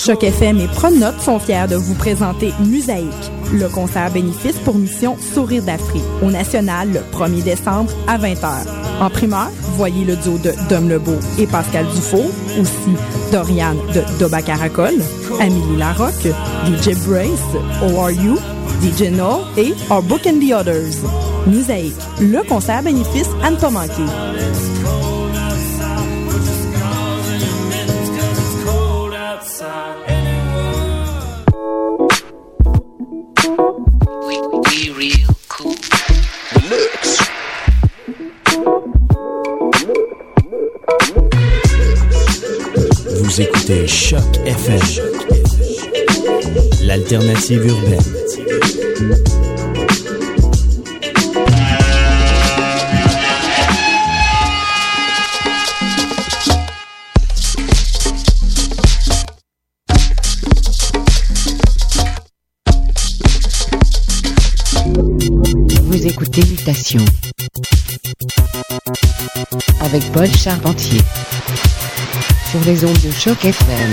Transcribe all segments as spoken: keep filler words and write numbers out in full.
Choc F M et Pronote sont fiers de vous présenter Musaïque, le concert bénéfice pour mission Sourire d'Afrique, au National le premier décembre à vingt heures. En primeur, voyez le duo de Dom Lebeau et Pascal Dufault, aussi Doriane de Doba Caracol, Amélie Larocque, D J Brace, O R U, D J No et Our Book and the Others. Musaïque, le concert bénéfice à ne pas manquer. Vous écoutez Choc F M, l'alternative urbaine. Vous écoutez Mutation avec Paul Charpentier sur les ondes de Choc F M.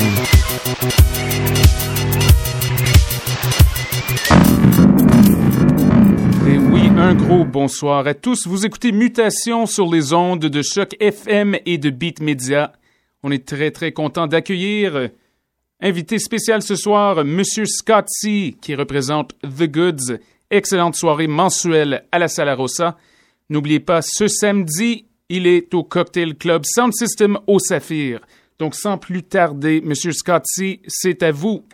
Et oui, un gros bonsoir à tous. Vous écoutez Mutation sur les ondes de Choc F M et de Beat Media. On est très très content d'accueillir invité spécial ce soir, Monsieur Scott C, qui représente The Goods. Excellente soirée mensuelle à la Sala Rossa. N'oubliez pas, ce samedi, il est au Cocktail Club Sound System au Saphir. Donc, sans plus tarder, Monsieur Scott C, c'est à vous.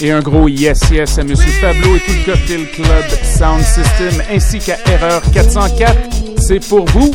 Et un gros yes yes à Monsieur Pablo et tout le Cocktail Club Sound System ainsi qu'à Erreur quatre cent quatre. C'est pour vous.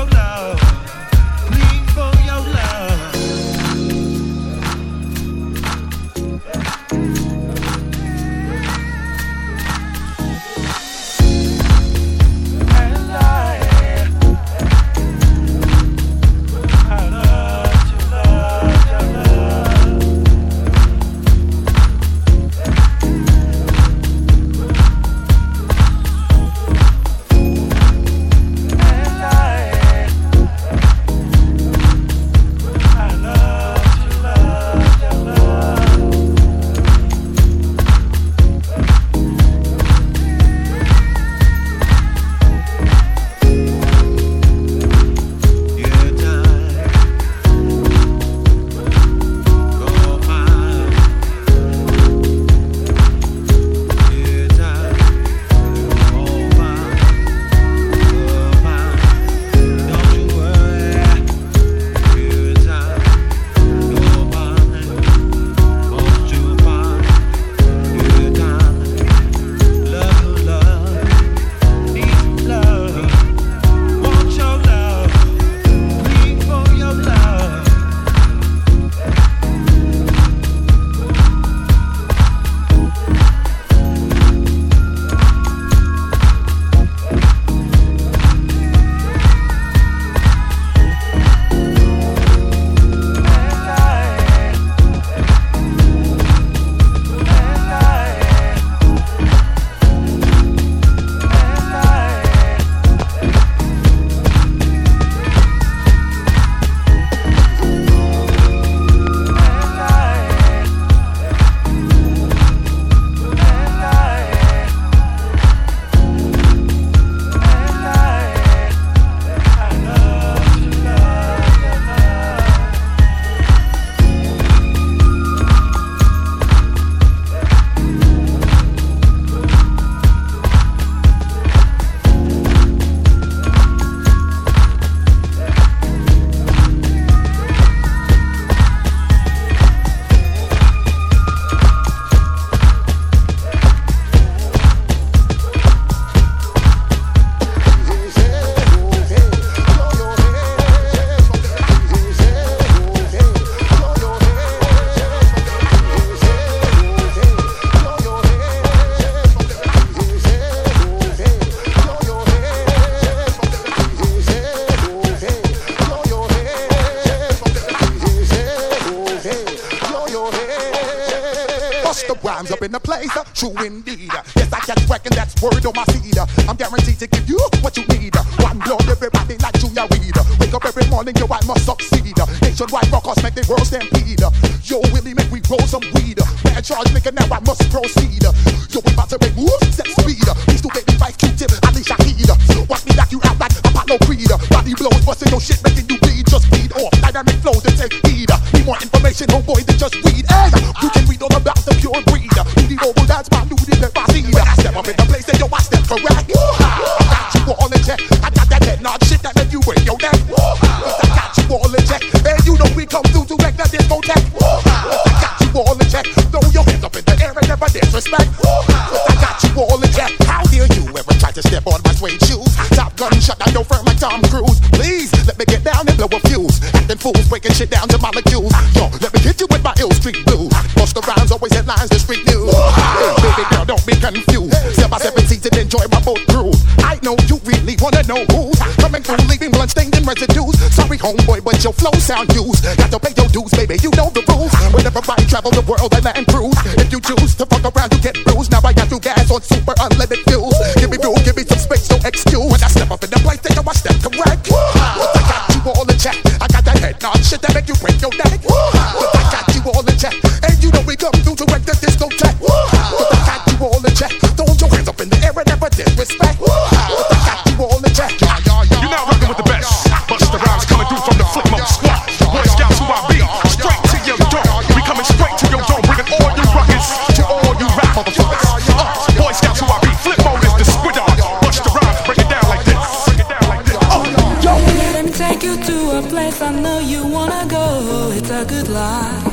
rhymes up in the place, uh, true indeed. Yes, I can reckon that's word on my seed. I'm guaranteed to give you what you need. One blood, everybody like Junior Reid. Wake up every morning, yo, I must succeed. Nationwide rockers make the world stampede. Yo, Willie, make we roll some weed. Man, charge nigga, now I must proceed. Yo, we about to make moves, set speed. These two baby five Q-tip, Ali Shaheed. Watch me knock you out like Apollo Creed. Body blows, busting your shit, making you bleed. Just feed off dynamic flows and take heed. Need more information, homeboy, than just read. Hey, you can read all about the pure breed. Do the oval dance, man, do the never see. When I step up in the place, then yo, I step correct. I got you all in check. I got that head nod shit that make you break your neck. Cause I got you all in check. And you know we come through to wreck the discotheque. Cause I got you all in check. Throw your hands up in the air and never disrespect. Cause I got you all in check. How dare you ever try to step on my suede shoes? Top gun shut down your firm like Tom Cruise. Please, let me get down and blow a fuse. Acting fools, breaking shit down to molecules. Yo, let me hit you with my ill street blues. Bust the rhymes, always headlines, the street news. Hey, baby girl, don't be confused. Step by seven seats and enjoy my boat cruise. I know you really wanna know who's coming through, leaving blood stained in residues. Sorry, homeboy, but your flow sound used. Got to pay your dues, baby, you know the rules. Whenever I travel the world, I land cruise. If you choose to fuck around, you get bruised. Now I got you gas on super unleaded fuels. Give me room, give me some space, no excuse. When I step up in the place, take a watch step correct. But I got you all in check. I got that head nod shit that make you break your neck. But I got you all in check. And you know we come through to wreck the discotheque. But I got you all in check. Throw your hands up in the air and never disrespect. But I got you all in check. You're now rocking with the best. Bust the rhymes coming through from the Flip Mode Squad. Boy Scouts who I be. Straight to your door. We coming straight to your door. Bringing all you rockers to all you rap motherfuckers. Uh, Boy Scouts who I be. Flip Mode is the squid on. Bust the rhymes, break it down like this. Break it down like this. Oh, yo. Let me take you to a place I know you wanna go. It's a good life.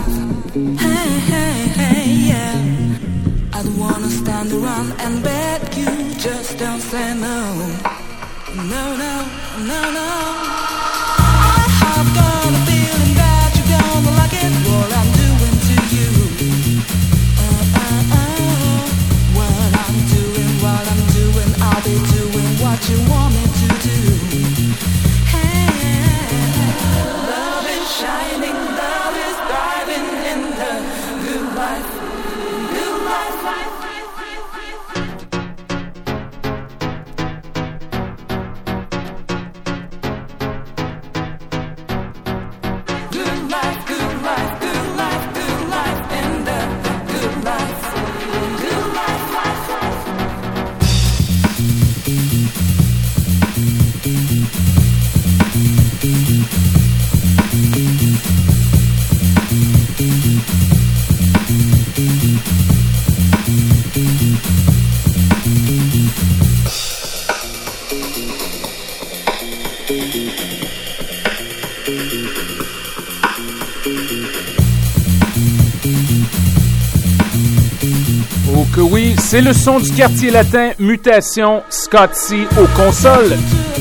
Hey, hey, hey, yeah. I don't wanna stand around and beg you. Just don't say no. No, no, no, no. Oh que oui, c'est le son du quartier latin, Mutation, Scott C aux consoles.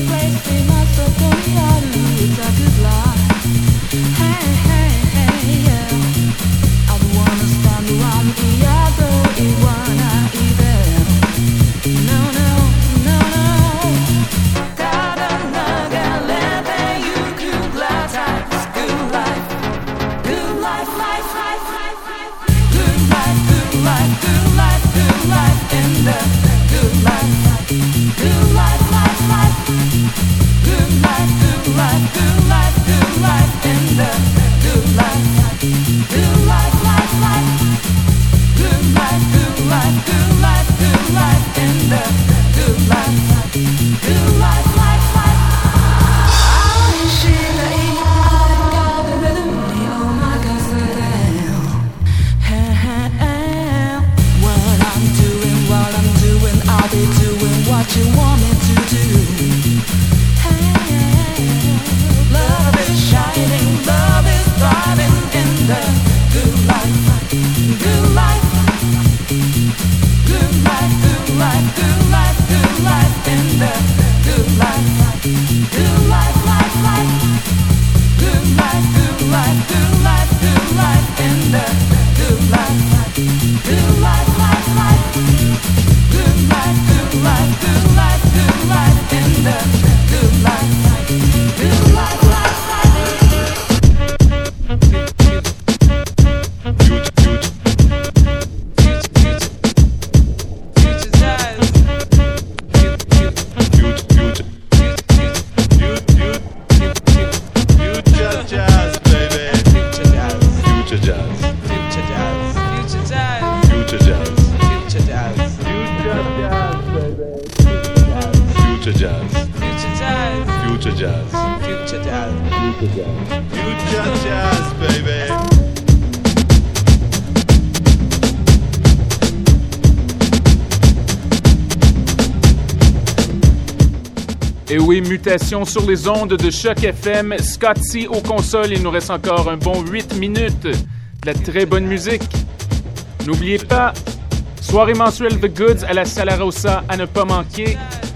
Et oui, Mutation sur les ondes de Choc F M. Scott C aux consoles. Il nous reste encore un bon huit minutes. De la très bonne musique. N'oubliez pas, soirée mensuelle The Goods à la Sala Rossa à ne pas manquer.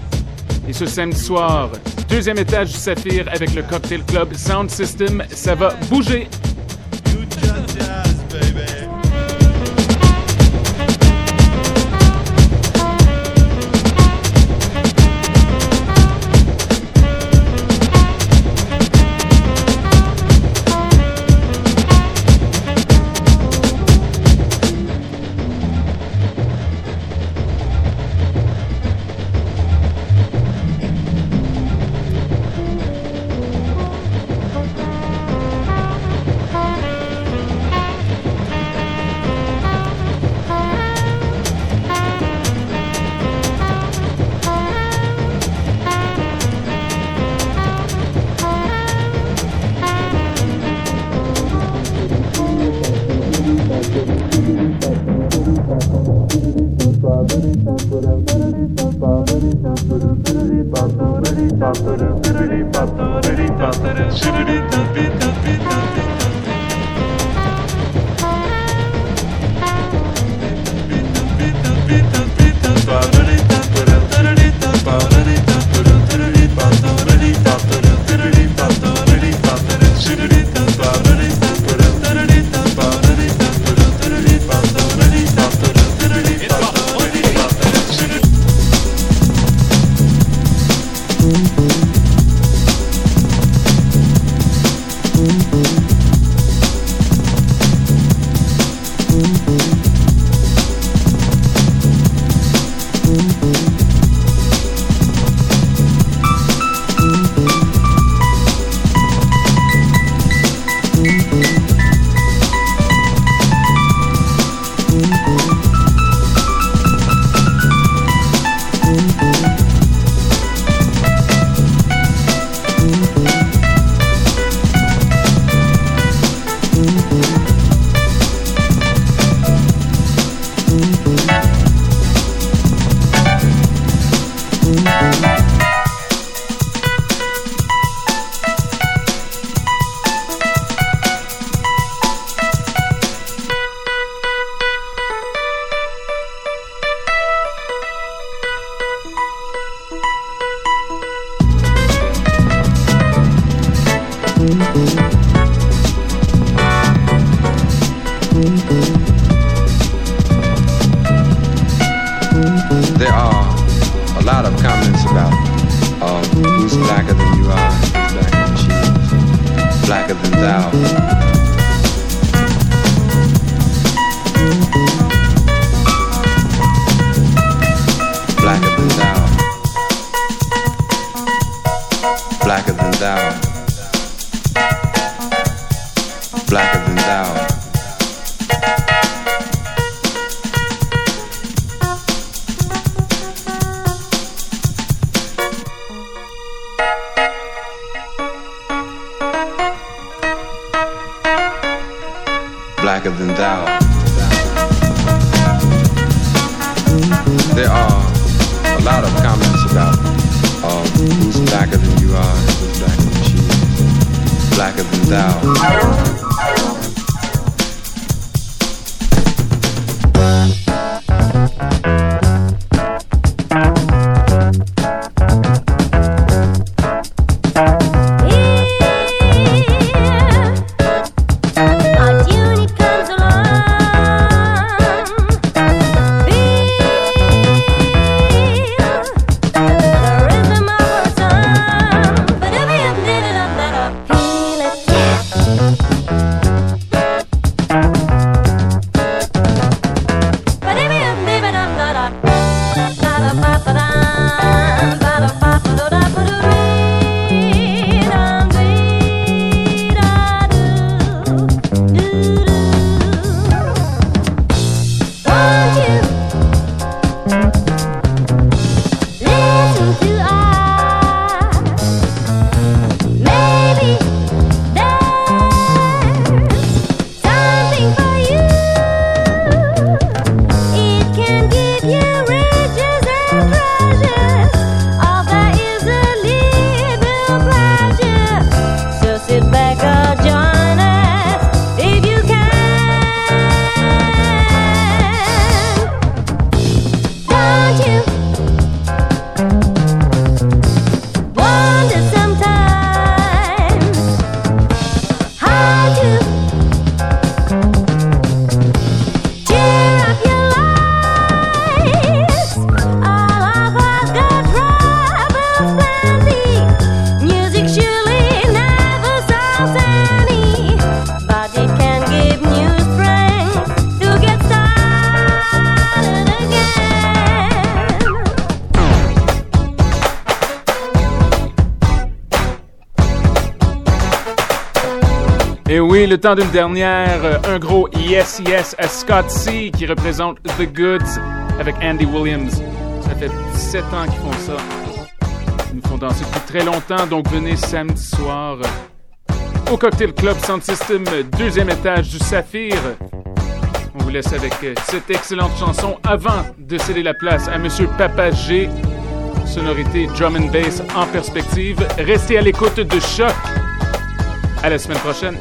Et ce samedi soir, deuxième étage du Saphir avec le Cocktail Club Sound System. Ça va bouger. thou. Blacker than thou. Blacker than thou. Blacker than thou. Blacker than thou. There are a lot of comments about uh, who's blacker than you are, who's blacker than she is, blacker than thou. Et oui, le temps d'une dernière, un gros yes yes à Scott C qui représente The Goods avec Andy Williams. Ça fait dix-sept ans qu'ils font ça. Ils nous font danser depuis très longtemps, donc venez samedi soir au Cocktail Club Sound System, deuxième étage du Saphir. On vous laisse avec cette excellente chanson avant de céder la place à Monsieur Papa G. Sonorité drum and bass en perspective. Restez à l'écoute de Choc. À la semaine prochaine.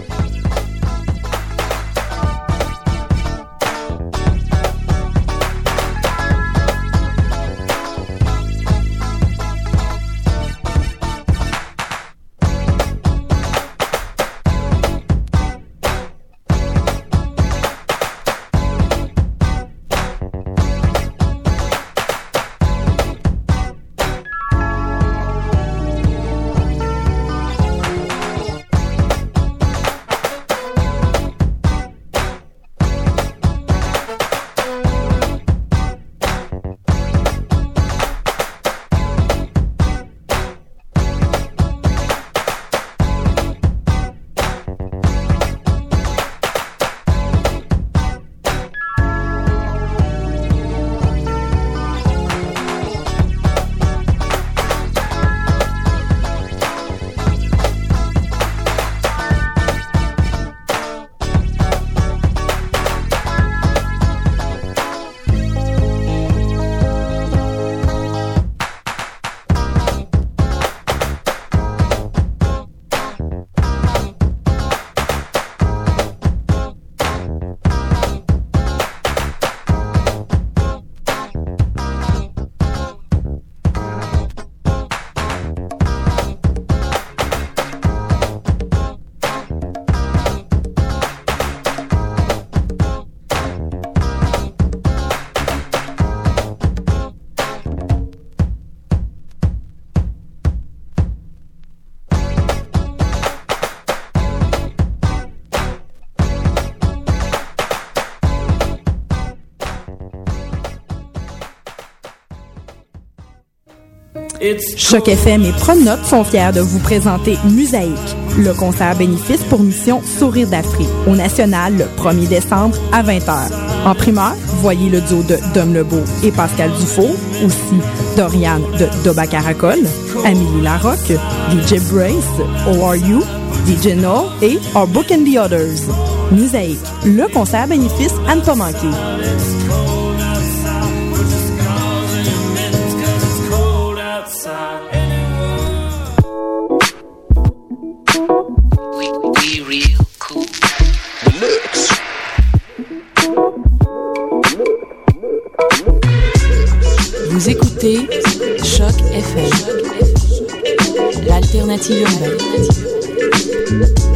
Choc F M et Pronote sont fiers de vous présenter Musaïque, le concert bénéfice pour mission Sourire d'Afrique, au National le premier décembre à vingt heures. En primeur, voyez le duo de Dom Lebeau et Pascal Dufault, aussi Dorian de Doba Caracol, Amélie Larocque, D J Brace, O R U, D J No et Our Book and the Others. Musaïque, le concert bénéfice à ne pas manquer. Vous écoutez Choc F M, l'alternative urbaine.